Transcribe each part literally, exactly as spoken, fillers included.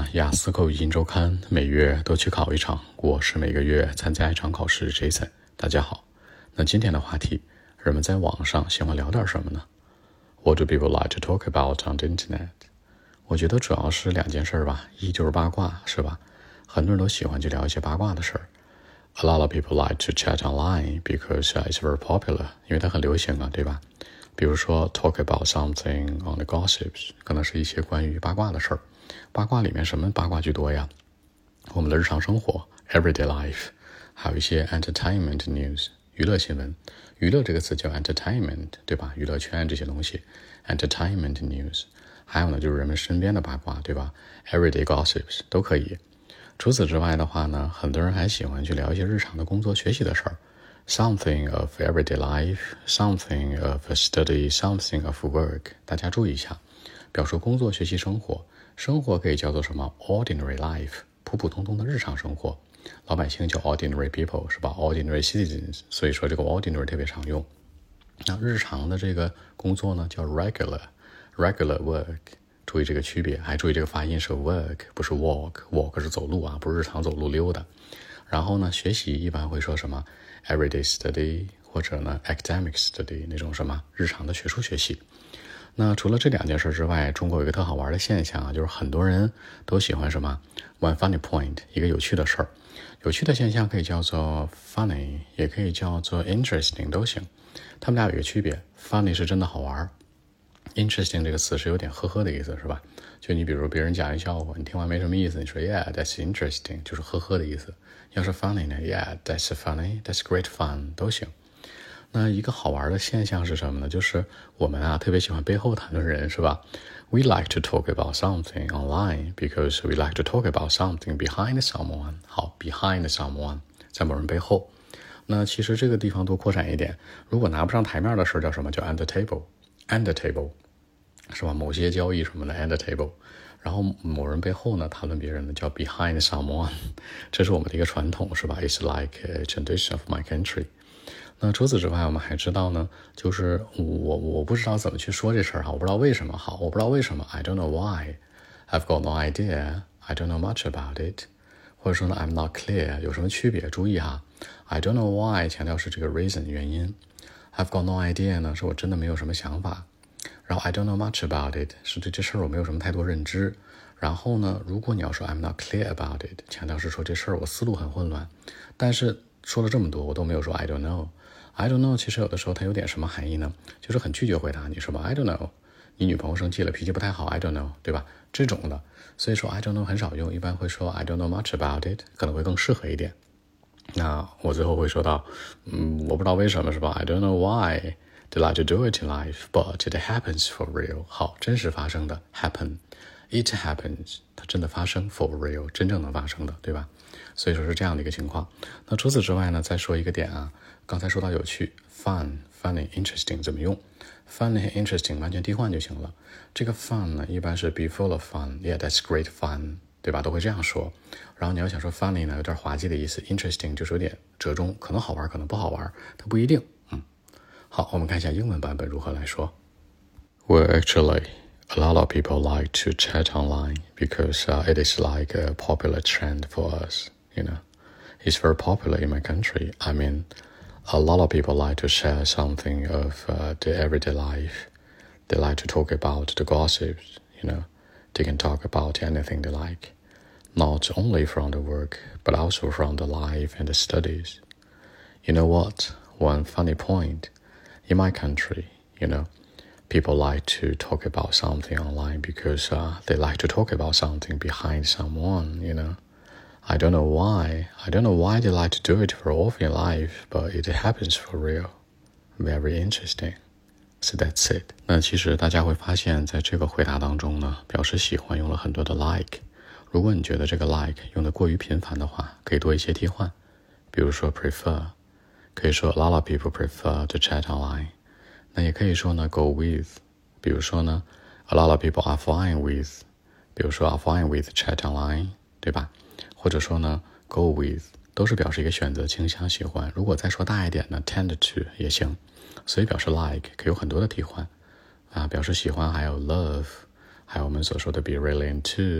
雅思口语音周刊每月都去考一场，我是每个月参加一场考试 Jason。 大家好，那今天的话题，人们在网上喜欢聊点什么呢？ What do people like to talk about on the internet？ 我觉得主要是两件事吧，一就是八卦，是吧？很多人都喜欢去聊一些八卦的事儿。A lot of people like to chat online because it's very popular， 因为它很流行啊，对吧？比如说 talk about something on the gossips， 可能是一些关于八卦的事儿。八卦里面什么八卦居多呀？我们的日常生活 everyday life， 还有一些 entertainment news 娱乐新闻。娱乐这个词叫 entertainment， 对吧？娱乐圈这些东西 entertainment news。 还有呢就是人们身边的八卦，对吧？ everyday gossips 都可以。除此之外的话呢，很多人还喜欢去聊一些日常的工作学习的事儿。Something of everyday life, something of study, something of work。 大家注意一下，表述工作、学习、生活。生活可以叫做什么 ordinary life， 普普通通的日常生活。老百姓叫 ordinary people， 是吧？ ordinary citizens， 所以说这个 ordinary 特别常用。那日常的这个工作呢叫 regular regular work， 注意这个区别，还注意这个发音是 work 不是 walk， walk 是走路啊，不是日常走路溜达。然后呢，学习一般会说什么 everyday study， 或者呢 academic study， 那种什么日常的学术学习。那除了这两件事之外，中国有一个特好玩的现象啊，就是很多人都喜欢什么 one funny point， 一个有趣的事儿。有趣的现象可以叫做 funny， 也可以叫做 interesting， 都行。他们俩有一个区别， funny 是真的好玩， interesting 这个词是有点呵呵的意思，是吧？就你比如别人讲一笑话，你听完没什么意思，你说 yeah that's interesting， 就是呵呵的意思。要是 funny 呢 yeah that's funny， that's great fun， 都行。那一个好玩的现象是什么呢？就是我们啊特别喜欢背后谈论人，是吧？ We like to talk about something online because we like to talk about something behind someone。 好， behind someone 在某人背后。那其实这个地方多扩展一点，如果拿不上台面的事叫什么？叫 under table under table， 是吧？某些交易什么的 under table。然后某人背后呢谈论别人呢叫 behind someone， 这是我们的一个传统，是吧？ It's like a tradition of my country。那除此之外，我们还知道呢，就是我我不知道怎么去说这事儿哈，我不知道为什么好，我不知道为什么 I don't know why， I've got no idea， I don't know much about it， 或者说呢 I'm not clear， 有什么区别？注意哈 I don't know why 强调是这个 reason 原因， I've got no idea 呢是我真的没有什么想法，然后 I don't know much about it 是对这事儿我没有什么太多认知。然后呢，如果你要说 I'm not clear about it， 强调是说这事儿我思路很混乱。但是说了这么多我都没有说 I don't know。I don't know 其实有的时候它有点什么含义呢？就是很拒绝回答你，是吧？ I don't know， 你女朋友生气了，脾气不太好 I don't know， 对吧？这种的，所以说 I don't know 很少用，一般会说 I don't know much about it， 可能会更适合一点。那我最后会说到嗯，我不知道为什么，是吧？ I don't know why they like to do it in life but it happens for real。 好，真实发生的 happen， it happens， 它真的发生 for real， 真正能发生的，对吧？所以说是这样的一个情况。那除此之外呢，再说一个点啊，刚才说到有趣 fun funny interesting 怎么用？ funny 和 interesting 完全替换就行了。这个 fun 呢一般是 be full of fun， yeah that's great fun， 对吧？都会这样说。然后你要想说 funny 呢有点滑稽的意思， interesting 就是有点折中，可能好玩可能不好玩，它不一定。嗯，好，我们看一下英文版本如何来说。 Well actually a lot of people like to chat online because uh, it is like a popular trend for us, you know. It's very popular in my country. I mean, a lot of people like to share something of uh, the everyday life. They like to talk about the gossips, you know. They can talk about anything they like, not only from the work, but also from the life and the studies. You know what? One funny point, in my country, you know, people like to talk about something online because uh, they like to talk about something behind someone, you know. I don't know why. I don't know why they like to do it for often in life, but it happens for real. Very interesting. So that's it. 那其实大家会发现在这个回答当中呢，表示喜欢用了很多的 like。如果你觉得这个 like 用的过于频繁的话，可以多一些替换。比如说 prefer， 可以说 a lot of people prefer to chat online。那也可以说呢 go with， 比如说呢 a lot of people are fine with， 比如说 are fine with chat online， 对吧？或者说呢 go with， 都是表示一个选择倾向喜欢。如果再说大一点呢 tend to 也行。所以表示 like 可以有很多的替换啊，表示喜欢还有 love， 还有我们所说的 be really into，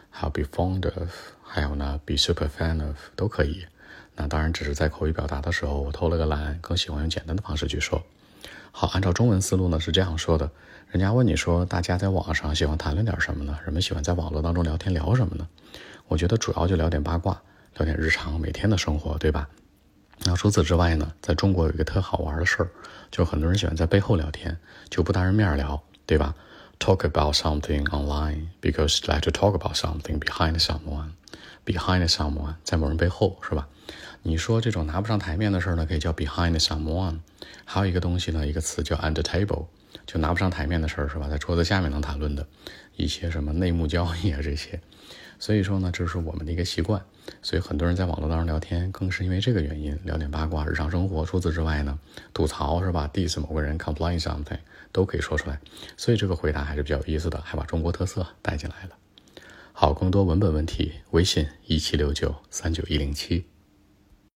还有 be fond of， 还有呢 be super fan of 都可以。那当然只是在口语表达的时候我偷了个懒，更喜欢用简单的方式去说。好，按照中文思路呢是这样说的，人家问你说大家在网上喜欢谈论点什么呢？人们喜欢在网络当中聊天聊什么呢？我觉得主要就聊点八卦，聊点日常每天的生活，对吧？那除此之外呢，在中国有一个特好玩的事儿，就是很多人喜欢在背后聊天，就不当着面聊，对吧？ Talk about something online because you like to talk about something behind someone. Behind someone 在某人背后，是吧？你说这种拿不上台面的事儿呢，可以叫 behind someone。还有一个东西呢，一个词叫 under table， 就拿不上台面的事儿，是吧？在桌子下面能谈论的一些什么内幕交易啊这些。所以说呢，这是我们的一个习惯，所以很多人在网络当中聊天更是因为这个原因，聊点八卦日常生活。除此之外呢，吐槽是吧 diss 某个人 complain something 都可以说出来，所以这个回答还是比较有意思的，还把中国特色带进来了。好，更多文本问题微信一七六九三九一零七。